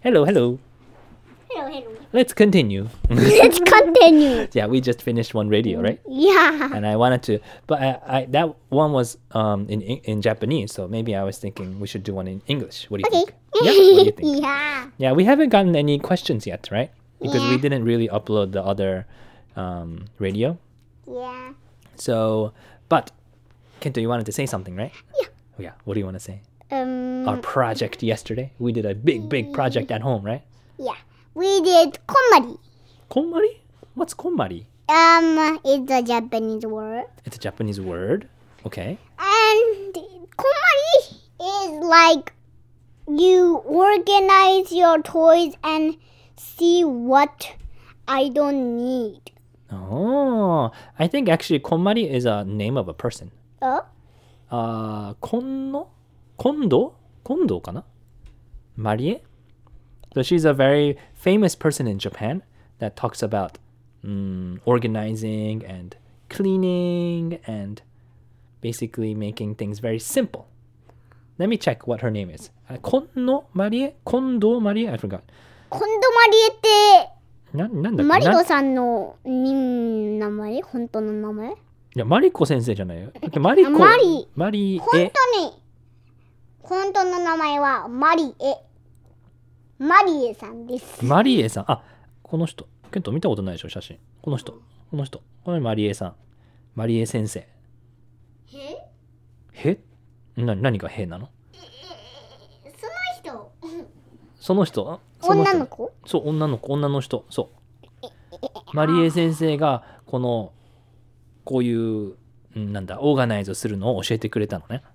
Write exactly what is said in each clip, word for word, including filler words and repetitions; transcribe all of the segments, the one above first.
Hello, hello. Hello, hello. Let's continue. Let's continue. Yeah, we just finished one radio, right? Yeah. And I wanted to, but I, I that one was um in in Japanese, so maybe I was thinking we should do one in English. What do you Okay. think? Yeah. What do you think? Yeah. Yeah, we haven't gotten any questions yet, right? Because we Yeah. didn't really upload the other um, radio. Yeah. So, but Kento, you wanted to say something, right? Yeah. Oh, yeah. What do you want to say? Um. Our project yesterday. We did a big, big project at home, right? Yeah. We did konmari. Konmari? What's konmari? Um. It's a Japanese word. It's a Japanese word. Okay. And konmari is like you organize your toys and see what I don't need. Oh, I think actually konmari is a name of a person. Oh? Uh, konno? Kondo? Kondo かな? Marie? So she's a very famous person in Japan that talks about um, organizing and cleaning and basically making things very simple. Let me check what her name is. Uh, Konno Marie? Kondo Marie? I forgot. コンドマリエってな、なんだっけマリなコさんのに名前本当の名前いや、マリコ先生じゃないよ。マリコ。 マリマリ本エ。 当に本当の名前はマリエマリエさんですマリエさん。あ、この人。ケント見たことないでしょ、写真。この人。この人。これマリエさん。マリエ先生。 えへな、何がへなのその人その人あその人女の子そう、女の子、女の人。そう。マリエ先生が、この、こういう、んなんだ、オーガナイズするのを教えてくれたのね。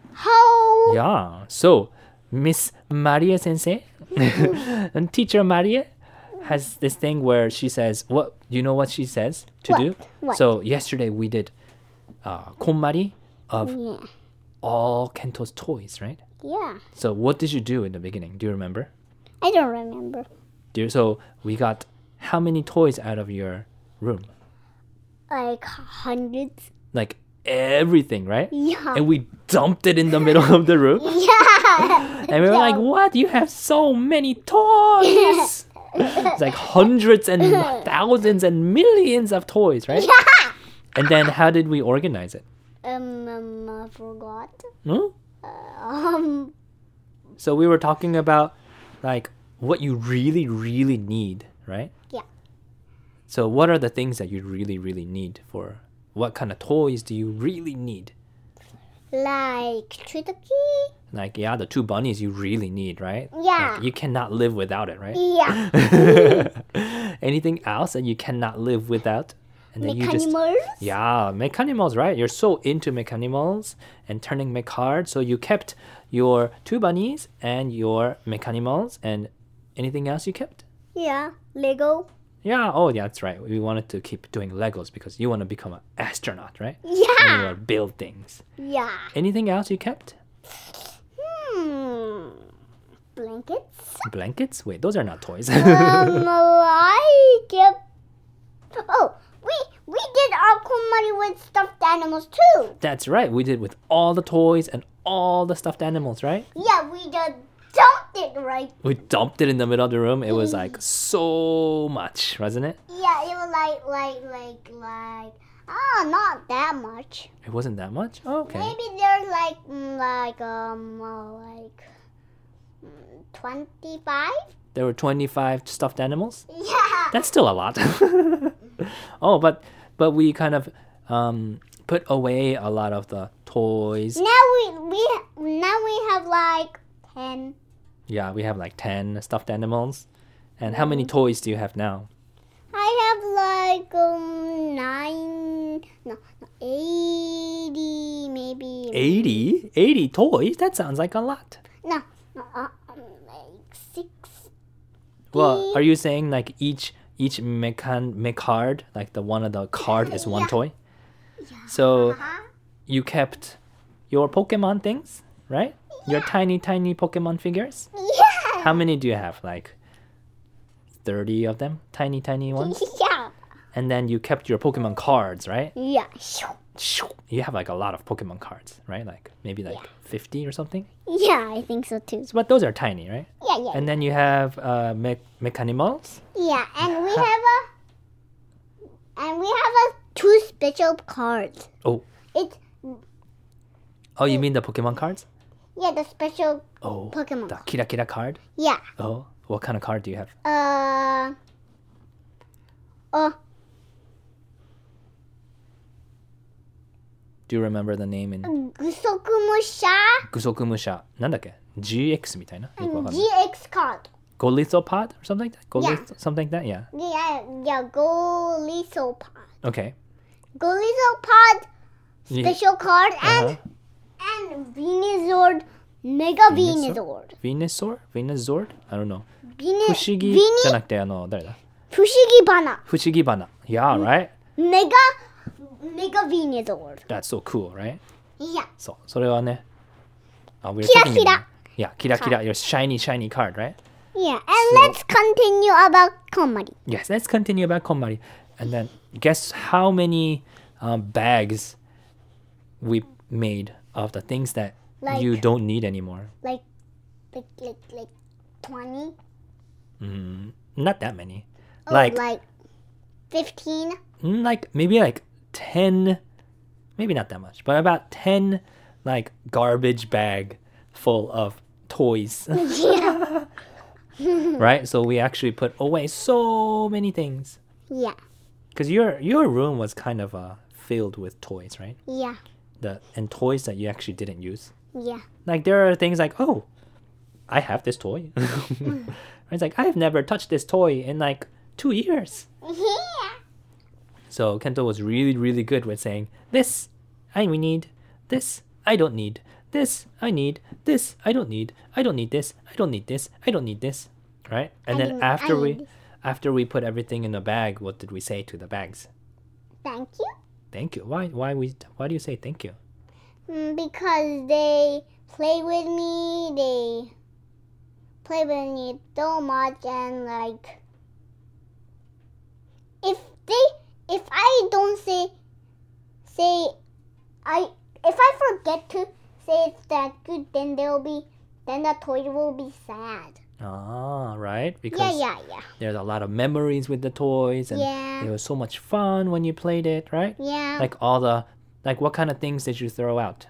How Yeah. So, Miss Maria Sensei, and Teacher Maria has this thing where she says, "What you know? What she says to What? do?" What? So yesterday we did uh, konmari of Yeah. all Kento's toys, right? Yeah. So what did you do in the beginning? Do you remember? I don't remember. Do you, so we got how many toys out of your room? Like hundreds. Like everything, right? Yeah. And we dumped it in the middle of the room. Yeah. And we were like, what? You have so many toys. It's like hundreds and thousands and millions of toys, right? Yeah. And then how did we organize it? Um, um I forgot. Hmm? Um So we were talking about like what you really, really need, right? Yeah. So what are the things that you really, really need for what kind of toys do you really need? like Chutaki? Like, yeah, the two bunnies you really need, right? Yeah. Like, you cannot live without it, right? Yeah. Anything else that you cannot live without? And then you just Mechanimals? yeah, Mechanimals, right? You're so into Mechanimals and turning mech hard, so you kept your two bunnies and your Mechanimals, and anything else you kept? Yeah. Lego? Yeah, oh, yeah, that's right. We wanted to keep doing Legos because you want to become an astronaut, right? And you Yeah. want to build things. Yeah. Anything else you kept? Hmm. Blankets? Blankets? Wait, those are not toys. um, I kept. Oh, we we did our konmari with stuffed animals too. That's right. We did with all the toys and all the stuffed animals, right? Yeah, we just dumped it right. We dumped it in the middle of the room. It was like so much, wasn't it? Yeah, it was like like like like. Ah, not that much. It wasn't that much? Oh, okay. Maybe there's like mm, like um uh, like mm, twenty-five. There were twenty-five stuffed animals. Yeah. That's still a lot. Oh, but but we kind of um, put away a lot of the toys. Now we we now we have like ten. Yeah, we have like ten stuffed animals. And how many toys do you have now? I have like um nine, no, no eighty maybe. eighty? eighty toys? That sounds like a lot. No, no, uh, um, like six. Well, are you saying like each each mechan mech card, like the one of the card is one Yeah. toy? So Uh-huh. you kept your Pokemon things, right? Your tiny tiny Pokemon figures? Yeah. How many do you have? Like thirty of them? Tiny tiny ones? Yeah. And then you kept your Pokemon cards, right? Yeah. you have like a lot of Pokemon cards, right? Like maybe like fifty or something. Yeah, I think so too. So, but those are tiny, right? Yeah, yeah. And then you have uh, me- Mechanimals. Yeah, and we have a and we have a two special cards. Oh, It's oh, you mean the Pokemon cards? yeah, the special Oh, Pokemon. the Kira Kira card. Yeah. Oh, what kind of card do you have? Uh uh Do you remember the name in Gusokumusha Gusokumusha? なんだっけ ?ジーエックス みたいな。よくわかんない。 G X card. Golithopod or something like that? Yeah. Golith- something like that, yeah. Yeah, yeah, Golisopod. Okay. Golisopod Yeah. special card and Uh-huh. and Venusaur Mega Venusaur? Venusaur. Venusaur? Venusaur? I don't know. Venu 不思議 Veni じゃなくて、あの、誰だ Fushigibana. 不思議花。Yeah, right? Mega Mega Venusaur. That's so cool, right? Yeah. そう。それはね。あ、we're キラ talking キラ about- Yeah, キラキラ。Your shiny, shiny card, right? Yeah. And So- let's continue about Komari. Yes, let's continue about Konmari. And then guess how many um, bags we made of the things that Like- you don't need anymore. Like like like like twenty. Mm, not that many. Oh, like, like fifteen. mm, like maybe like ten, maybe not that much, but about ten like garbage bag full of toys. Yeah. Right? So we actually put away so many things. Yeah. Because your your room was kind of uh, filled with toys, right? Yeah. The and toys that you actually didn't use. Yeah. Like there are things like, oh, I have this toy. It's like I've never touched this toy in like two years. Yeah. So Kento was really, really good with saying, this I need, this I don't need, this I need, this I don't need, I don't need this, I don't need this, I don't need this. Right? And I then don't- I after need we this. after we put everything in the bag, what did we say to the bags? Thank you. Thank you. Why why we why do you say thank you? Mm, because they play with me, they play with me so much, and like, if they, if I don't say, say, I, if I forget to say it's that good, then they'll be, then the toy will be sad. Ah, right? Because Yeah, yeah, yeah, there's a lot of memories with the toys and Yeah. it was so much fun when you played it, right? yeah. Like all the like what kind of things did you throw out?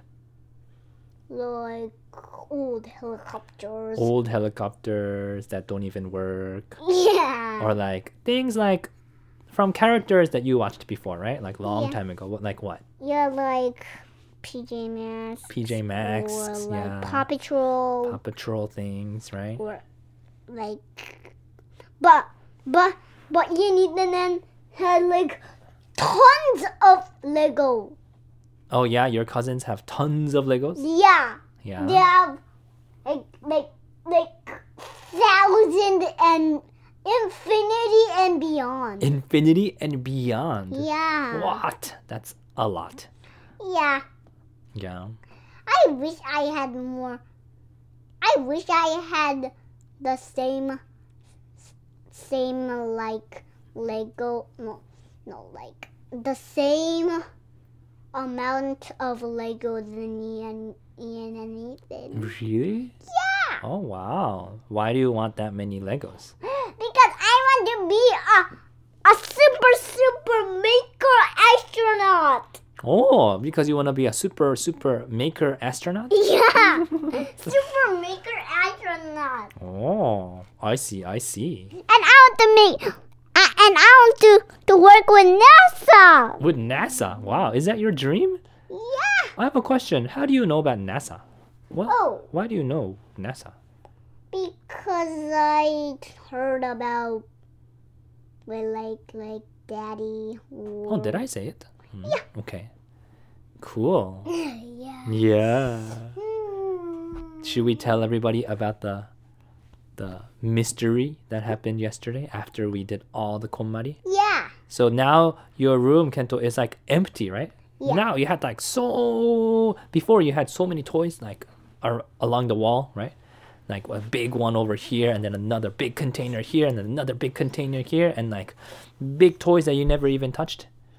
Like old helicopters. Old helicopters that don't even work. Yeah. Or like things like from characters that you watched before, right? Like long Yeah. time ago. What like what? Yeah, like P J Masks. P J Masks, Or like yeah. Paw Patrol. Paw Patrol things, right? Or like, but but but you need to then had like tons of Lego. Oh yeah, your cousins have tons of Legos? Yeah, Yeah. they have like like like thousand and infinity and beyond. Infinity and beyond. Yeah. What? That's a lot. Yeah. Yeah. I wish I had more. I wish I had the same, same like Lego. No, no, like the same amount of Lego than Ian, Ian and Ethan. Really? Yeah, Oh wow. Why do you want that many Legos? because I want to be a a super super maker astronaut. Oh, because you want to be a super super maker astronaut? Yeah, super maker astronaut. Oh, I see, I see. And I want to make, uh, and I want to, to work with NASA. With NASA. Wow, is that your dream? Yeah. I have a question. How do you know about NASA? What? Oh, Why do you know NASA? because I heard about, well, like, like Daddy. Oh, did I say it? Yeah. Okay. Cool. Yeah. Yeah. Hmm. Should we tell everybody about the the mystery that happened yesterday after we did all the konmari? Yeah. So now your room, Kento, is like empty, right? Yeah. Now you had like so before you had so many toys like ar- along the wall, right? Like a big one over here, and then another big container here, and then another big container here, and like big toys that you never even touched.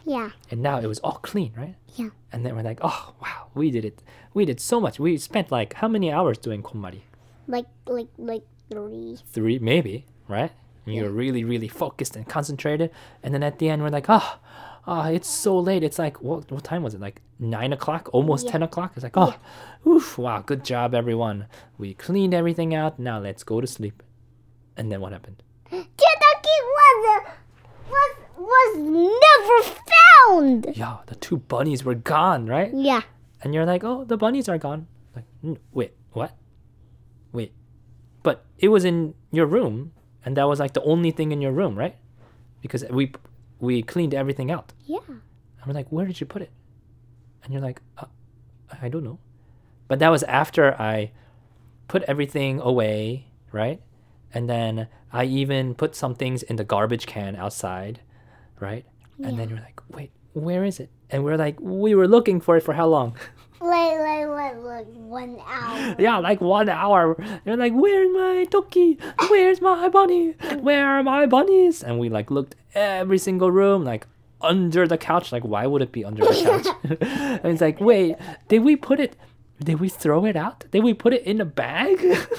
Yeah. And now it was all clean, right? Yeah. And then we're like, oh, wow, we did it. We did so much. We spent like how many hours doing konmari? Like like like three. Three, maybe, right? And you're really, really focused and concentrated. And then at the end, we're like, oh, oh it's so late. It's like, what, what time was it? Like nine o'clock, almost Yeah. ten o'clock. It's like, oh, oof, wow, good job, everyone. We cleaned everything out. Now let's go to sleep. And then what happened? Kentucky was was was never found. Yeah, the two bunnies were gone, right? Yeah. And you're like, oh, the bunnies are gone. Like, "N- wait, what? Wait. But it was in your room, and that was like the only thing in your room, right? Because we we cleaned everything out. Yeah. And we're like, where did you put it? And you're like, uh, I don't know. But that was after I put everything away, right? And then I even put some things in the garbage can outside, right? And then you're like, wait, where is it? And we're like, we were looking for it for how long? Like like like like one hour. Yeah, like one hour. You're like, where's my toki? Where's my bunny? Where are my bunnies? And we like looked every single room, like under the couch. Like, why would it be under the couch? And it's like, wait, did we put it? Did we throw it out? Did we put it in a bag?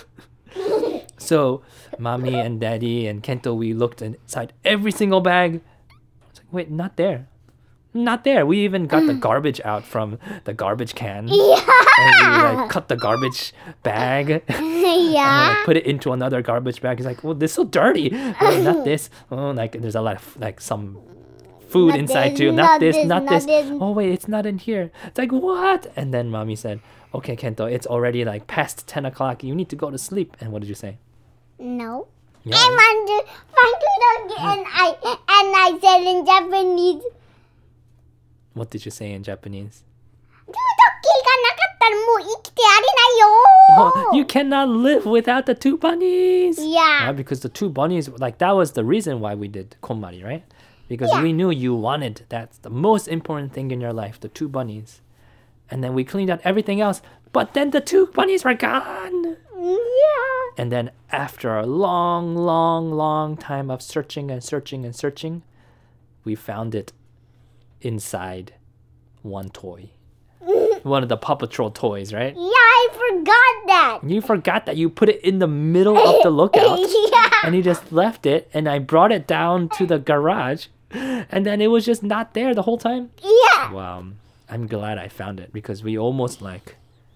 So, mommy and daddy and Kento, we looked inside every single bag. It's like, wait, not there. Not there. We even got the garbage out from the garbage can. Yeah. And we like cut the garbage bag and Yeah. like, put it into another garbage bag. He's like, well, this is so dirty. Oh, not this. Oh, like there's a lot of like some food Not inside this, too. Not, not this, this, not not this. this. Oh wait, it's not in here. It's like what? And then mommy said, okay, Kento, it's already like past ten o'clock. You need to go to sleep. And what did you say? No. Yeah. I want to find it and I and I said in Japanese. What did you say in Japanese? トゥートッキーがなかったらもう生きてあれないよ。 Oh, you cannot live without the two bunnies. Yeah. Right? Because the two bunnies, like that was the reason why we did konmari, right? Because Yeah. we knew you wanted that's the most important thing in your life, the two bunnies. And then we cleaned out everything else, but then the two bunnies were gone. Yeah. And then after a long, long, long time of searching and searching and searching, we found it inside one toy. One of the Paw Patrol toys, right? Yeah, I forgot that. You forgot that you put it in the middle of the lookout. Yeah. And you just left it, and I brought it down to the garage, and then it was just not there the whole time. Yeah. Wow, I'm glad I found it because we almost like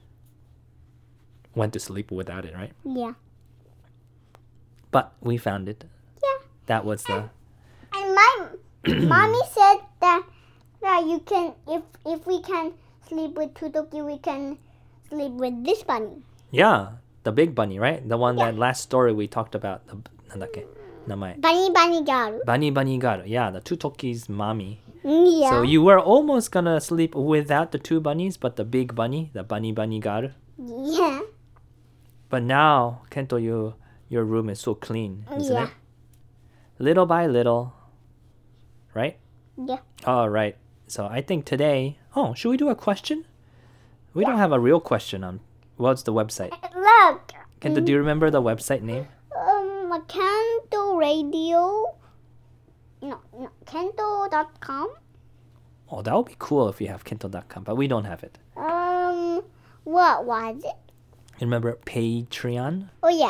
went to sleep without it, right? Yeah. But we found it. Yeah. That was the And my mommy said that that you can if if we can sleep with Tutoki, we can sleep with this bunny. yeah, the big bunny, right? The one that last story we talked about. The なんだっけ? Namae. Bunny bunny girl. Bunny bunny garu. Yeah, the Tutoki's mommy. Yeah. So you were almost gonna sleep without the two bunnies, but the big bunny, the bunny bunny garu. Yeah. But now, Kento, you your room is so clean, isn't Yeah. it? Little by little, right? Yeah. All right. So I think today. Oh, should we do a question? We don't have a real question on. What's the website? Look. Kento, do you remember the website name? Um, Kento Radio. No, no, Kento dot com. Oh, that would be cool if you have Kento dot com, but we don't have it. Um, what was it? You remember Patreon Oh yeah.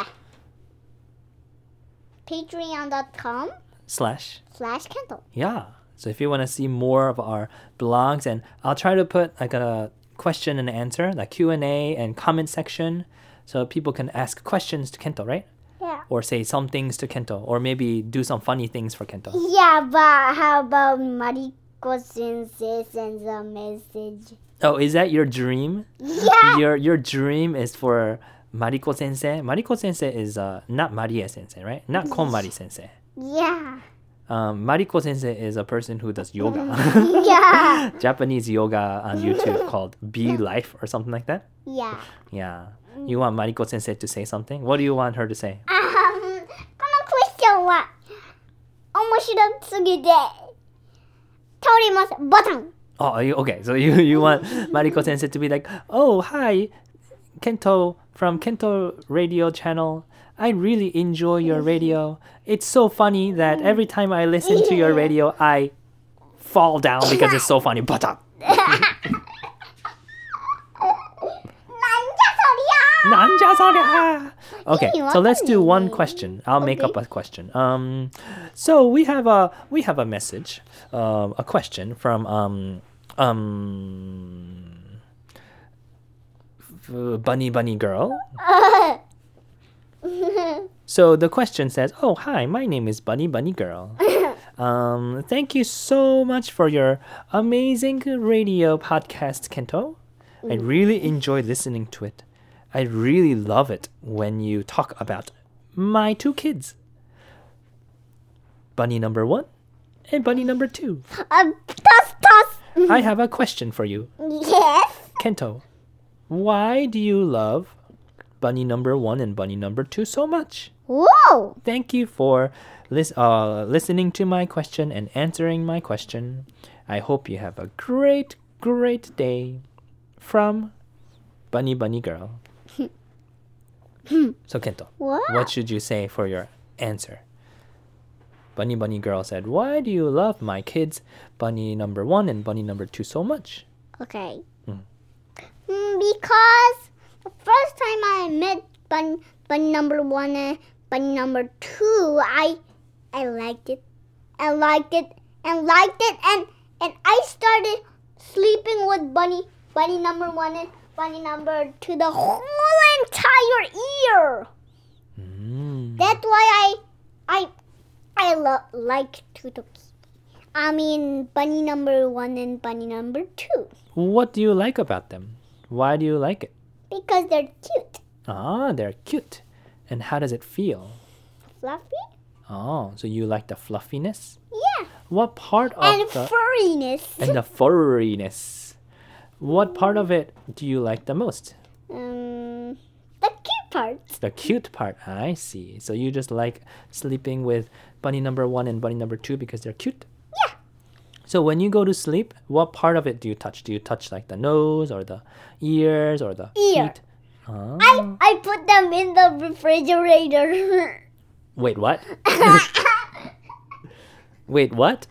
Patreon dot com slash? slash Kento. Yeah. So if you want to see more of our blogs, and I'll try to put like a question and answer, like Q and A and comment section, so people can ask questions to Kento, right? Yeah. Or say some things to Kento, or maybe do some funny things for Kento. Yeah, but how about Mariko Sensei sends a message? Oh, is that your dream? Yeah. Your your dream is for Mariko Sensei. Mariko Sensei is uh, not Marie Sensei, right? Not Konmari Sensei. Yeah. Um, Mariko Sensei is a person who does yoga. Yeah. Japanese yoga on YouTube called Be Life or something like that. Yeah. Yeah. You want Mariko Sensei to say something? What do you want her to say? Um, このクエスチョンは面白すぎて通ります。ボタン。 Oh, are you, okay. So you, you want Mariko Sensei to be like, oh, hi, Kento from Kento Radio Channel. I really enjoy your radio. It's so funny that every time I listen to your radio, I fall down because it's so funny. Bata. Nanja soria. Okay, so let's do one question. I'll make Okay. up a question. Um, so we have a we have a message, um, a question from um um f- Bunny Bunny Girl. So the question says, "Oh, hi, my name is Bunny Bunny Girl. Um, thank you so much for your amazing radio podcast, Kento. I really enjoy listening to it. I really love it when you talk about my two kids, Bunny number one and Bunny number two. Um, toss, toss. I have a question for you, Yes. Kento. Why do you love Bunny number one and Bunny number two so much? Whoa. Thank you for lis- uh, listening to my question and answering my question. I hope you have a great, great day. From Bunny Bunny Girl." So Kento, What? what should you say for your answer? Bunny Bunny Girl said, "Why do you love my kids, Bunny number one and Bunny number two, so much?" Okay. Mm. Mm, because the first time I met bun bun number one and bun number two, I I liked it, I liked it, and liked it, and and I started sleeping with bunny bunny number one and bunny number two the whole entire year. Mm. That's why I I I lo- like Tutoki. I mean bunny number one and bunny number two. What do you like about them? Why do you like it? Because they're cute. Ah, they're cute. And how does it feel? Fluffy? Oh, so you like the fluffiness? Yeah. What part of And the furriness. and the furriness? What part of it do you like the most? Um, the cute parts. The cute part. I see. So you just like sleeping with bunny number one and bunny number two because they're cute? Yeah. So when you go to sleep, what part of it do you touch? Do you touch like the nose or the ears or the Ear. feet? Ah. I, I put them in the refrigerator. Wait, what? Wait, what?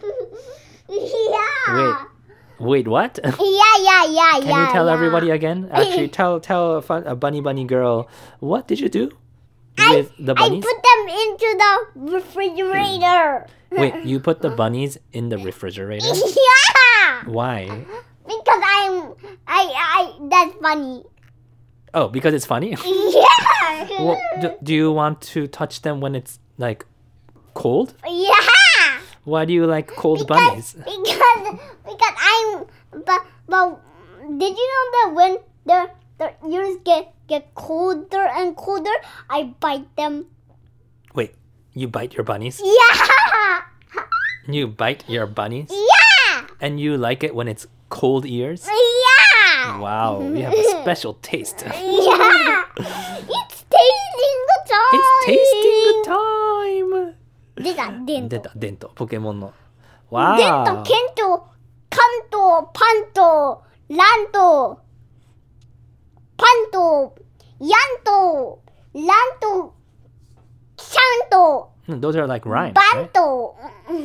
yeah. Wait, what? Yeah, yeah, yeah, Can yeah. you tell yeah. everybody again? Actually, tell tell a, fun, a bunny bunny girl, what did you do I, with the I bunnies? put them into the refrigerator. Wait, you put the bunnies in the refrigerator? yeah. Why? Because I'm I I that's funny. Oh, because it's funny? Yeah. Well, do, do you want to touch them when it's like cold? Yeah. Why do you like cold Because, bunnies? because because I'm but but did you know that when their their ears get get colder and colder, I bite them. Wait, you bite your bunnies? Yeah. You bite your bunnies? Yeah. And you like it when it's cold ears? Yeah. Wow, you have a special taste. Yeah. It's tasting the time. It's tasting the time. 出たデント出た、デント、ポケモンの。 デンわト、ケント、カント、パント、ラント、パント、ヤント、ラント、シャント、 Those are like rhymes, バ right? ント。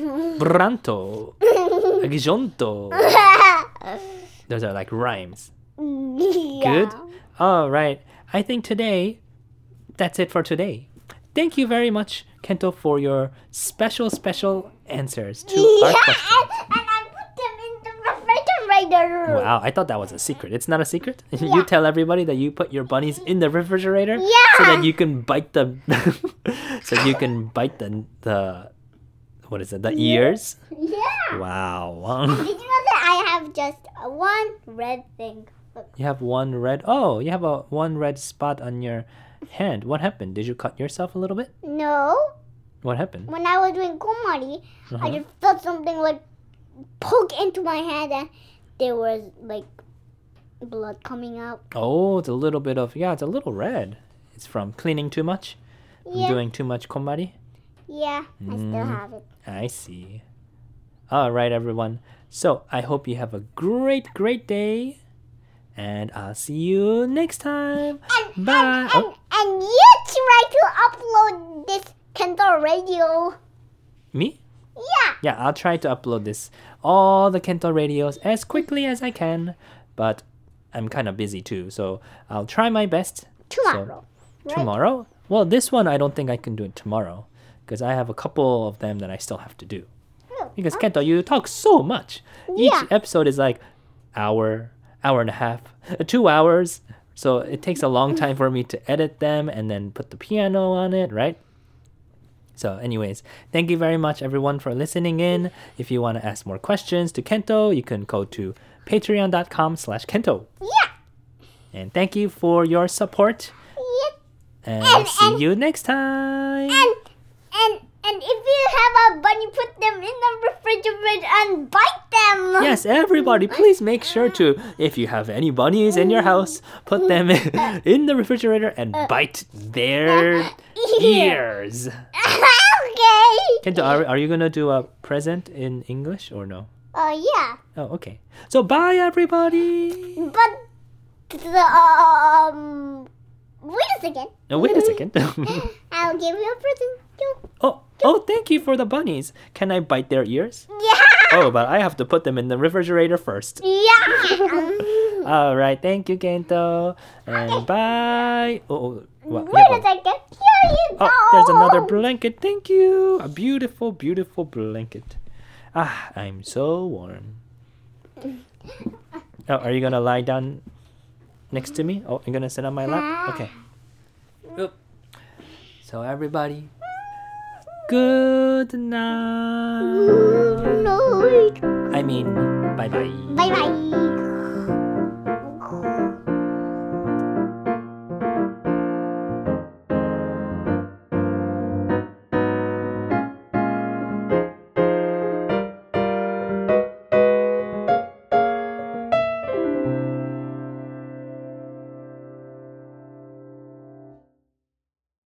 Branto, Gjonto. Those are like rhymes. Yeah. Good. All right. I think today, that's it for today. Thank you very much, Kento, for your special, special answers to our Yeah, questions. and, and I put them in the refrigerator. Wow, I thought that was a secret. It's not a secret? Yeah. You tell everybody that you put your bunnies in the refrigerator so Yeah. that you can bite the so you can bite the the what is it? The ears? Yeah. Wow. Did you know that I have just uh, one red thing? Look. You have one red. Oh, you have a one red spot on your hand. What happened? Did you cut yourself a little bit? No. What happened? When I was doing komari, I Uh-huh. just felt something like poke into my hand and there was like blood coming out. Oh, it's a little bit of yeah, it's a little red. It's from cleaning too much, from Yeah. doing too much komari. Yeah, I still Mm. have it. I see. All right, everyone. So I hope you have a great, great day, and I'll see you next time. And, Bye. And, Oh. and, and you try to upload this Kento radio. Me? Yeah. Yeah, I'll try to upload this all the Kento radios as quickly as I can, but I'm kind of busy too, so I'll try my best. Tomorrow. So, tomorrow? Well, this one I don't think I can do it tomorrow because I have a couple of them that I still have to do. Because Kento, you talk so much. Each Yeah. episode is like hour, hour and a half, uh, two hours. So it takes a long time for me to edit them and then put the piano on it, right? So anyways, thank you very much everyone for listening in. If you want to ask more questions to Kento, you can go to patreon.com slash Kento. Yeah. And thank you for your support. Yeah. And, And- see and- you next time. And and and if you have a bunny, put them in the refrigerator and bite them. Yes, everybody, please make sure to, if you have any bunnies in your house, put them in the refrigerator and bite their ears. Okay. Kento, are, are you going to do a present in English or no? Uh, yeah. Oh, okay. So bye, everybody. But the um. Wait a second. No, wait a second. I'll give you a present. oh, oh, thank you for the bunnies. Can I bite their ears? Yeah. Oh, but I have to put them in the refrigerator first. Yeah. All right, thank you, Kento. And bye. Oh, oh, what? Wait Yeah, a but- second. Here you go. Oh, there's another blanket. Thank you. A beautiful, beautiful blanket. Ah, I'm so warm. Oh, are you gonna lie down next to me? Oh, you're gonna sit on my lap? Okay. Oop. So everybody, good night. No. I mean, bye bye. Bye bye.